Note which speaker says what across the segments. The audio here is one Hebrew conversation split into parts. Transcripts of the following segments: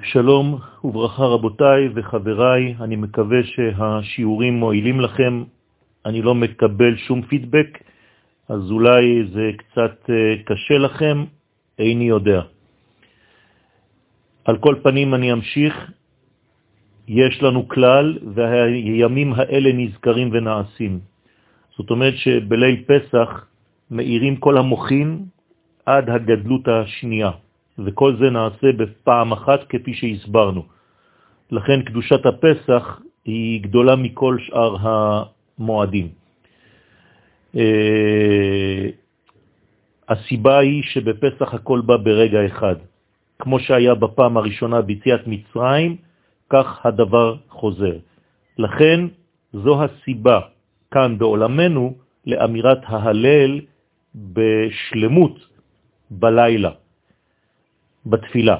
Speaker 1: שלום וברכה רבותיי וחבריי, אני מקווה שהשיעורים מועילים לכם. אני לא מקבל שום פידבק, אז אולי זה קצת קשה לכם, איני יודע. על כל פנים אני אמשיך. יש לנו כלל והימים האלה נזכרים ונעשים. זאת אומרת שבליל פסח מאירים כל המוחין עד הגדלות השנייה. וכל זה נעשה בפעם אחת כפי שהסברנו. לכן קדושת הפסח היא גדולה מכל שאר המועדים. הסיבה היא שבפסח הכל בא ברגע אחד. כמו שהיה בפעם הראשונה ביציאת מצרים, כך הדבר חוזר. לכן זו הסיבה כאן בעולמנו לאמירת ההלל בשלמות בלילה. בתפילה.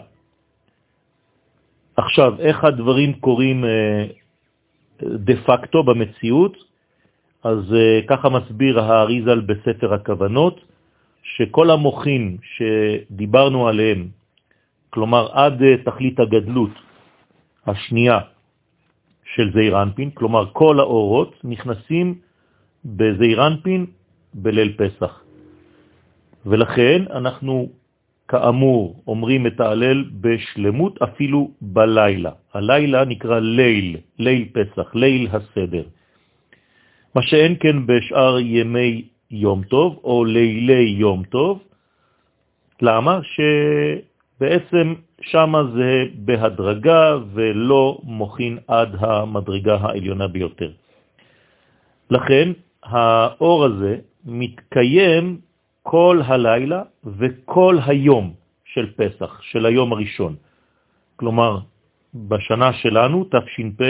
Speaker 1: עכשיו, איך הדברים קורים דה פקטו במציאות? אז ככה מסביר האריז"ל בספר הכוונות, שכל המוחין שדיברנו עליהם, כלומר עד תכלית הגדלות השנייה של זעיר אנפין, כלומר כל האורות נכנסים בזעיר אנפין בליל פסח. ולכן אנחנו כאמור אומרים את ההלל בשלמות אפילו בלילה. הלילה נקרא ליל, ליל פסח, ליל הסדר. מה שאין כן בשאר ימי יום טוב או לילי יום טוב. למה? שבעצם שמה זה בהדרגה ולא מוכין עד המדרגה העליונה ביותר. לכן האור הזה מתקיים כל הלילה וכל היום של פסח, של היום הראשון. כלומר, בשנה שלנו, תש"פ,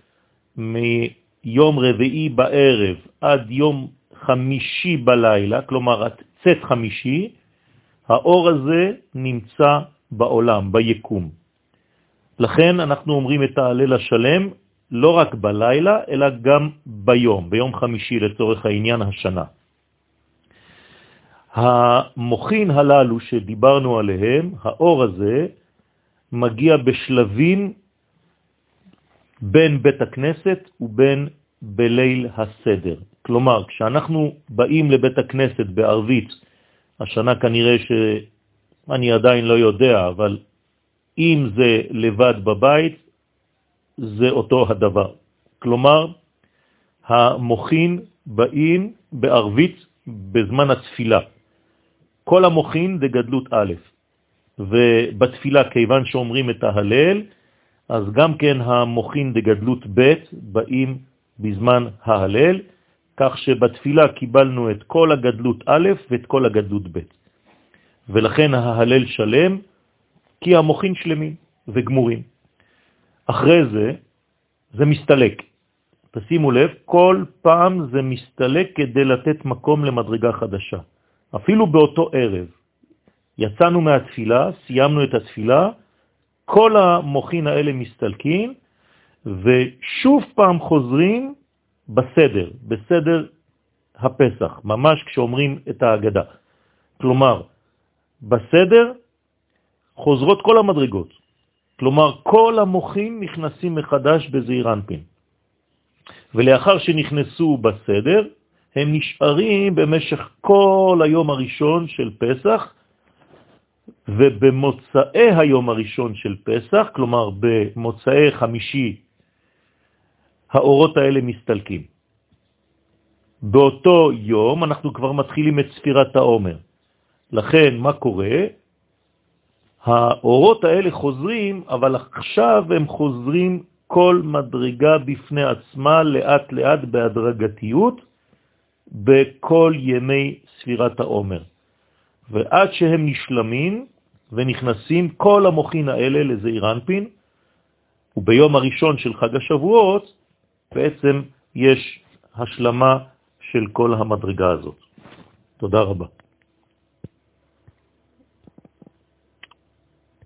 Speaker 1: מיום רביעי בערב עד יום חמישי בלילה, כלומר, צאת חמישי, האור הזה נמצא בעולם, ביקום. לכן אנחנו אומרים את ההלל השלם, לא רק בלילה, אלא גם ביום חמישי לצורך העניין השנה. המוחין הללו שדיברנו עליהם, האור הזה, מגיע בשלבים בין בית הכנסת ובין בליל הסדר. כלומר, כשאנחנו באים לבית הכנסת בערבית, השנה כנראה שאני עדיין לא יודע, אבל אם זה לבד בבית, זה אותו הדבר. כלומר, המוחין באים בערבית בזמן התפילה. כל המוחין זה גדלות א', ובתפילה כיוון שאומרים את ההלל, אז גם כן המוחין זה גדלות ב' באים בזמן ההלל, כך שבתפילה קיבלנו את כל הגדלות א' ואת כל הגדלות ב'. ולכן ההלל שלם, כי המוחין שלמים וגמורים. אחרי זה מסתלק. תשימו לב, כל פעם זה מסתלק כדי לתת מקום למדרגה חדשה. אפילו באותו ערב, יצאנו מהתפילה, סיימנו את התפילה, כל המוחין האלה מסתלקים, ושוב פעם חוזרים בסדר הפסח, ממש כשאומרים את ההגדה. כלומר, בסדר חוזרות כל המדרגות. כלומר, כל המוחין נכנסים מחדש בזעיר אנפין. ולאחר שנכנסו בסדר, הם נשארים במשך כל היום הראשון של פסח, ובמוצאי היום הראשון של פסח, כלומר במוצאי חמישי, האורות האלה מסתלקים. באותו יום אנחנו כבר מתחילים את ספירת העומר. לכן מה קורה? האורות האלה חוזרים, אבל עכשיו הם חוזרים כל מדרגה בפני עצמה, לאט לאט בהדרגתיות, בכל ימי ספירת העומר. ועד שהם נשלמים ונכנסים כל המוחין האלה לזעיר אנפין, וביום הראשון של חג השבועות בעצם יש השלמה של כל המדרגה הזאת. תודה רבה.